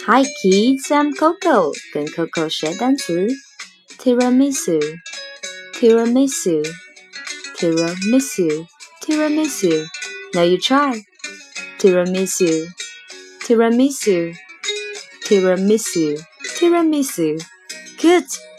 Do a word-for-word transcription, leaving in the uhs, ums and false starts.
Hi kids, I'm Coco. 跟 Coco 学单词 Tiramisu, Tiramisu, Tiramisu, Tiramisu. Now you try. Tiramisu, Tiramisu, Tiramisu, Tiramisu. Good.